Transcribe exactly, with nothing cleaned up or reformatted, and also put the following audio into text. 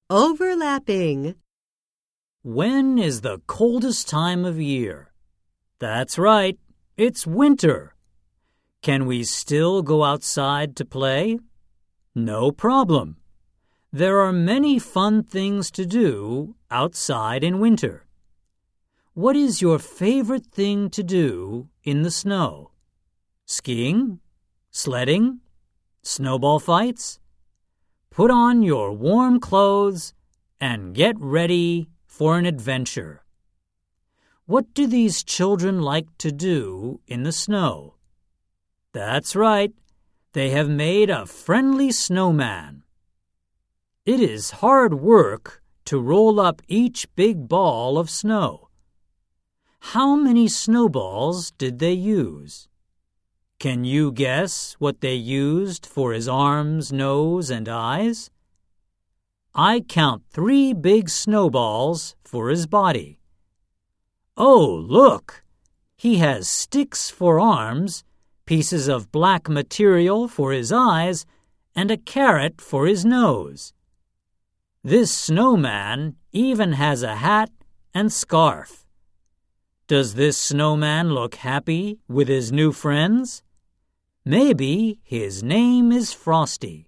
Overlapping. When is the coldest time of year? That's right, it's winter. Can we still go outside to play? No problem. There are many fun things to do outside in winter. What is your favorite thing to do in the snow? Skiing? Sledding? Snowball fights? Put on your warm clothes and get ready for an adventure. What do these children like to do in the snow? That's right, they have made a friendly snowman. It is hard work to roll up each big ball of snow. How many snowballs did they use? Can you guess what they used for his arms, nose, and eyes? I count three big snowballs for his body. Oh, look! He has sticks for arms, pieces of black material for his eyes, and a carrot for his nose. This snowman even has a hat and scarf. Does this snowman look happy with his new friends? Maybe his name is Frosty.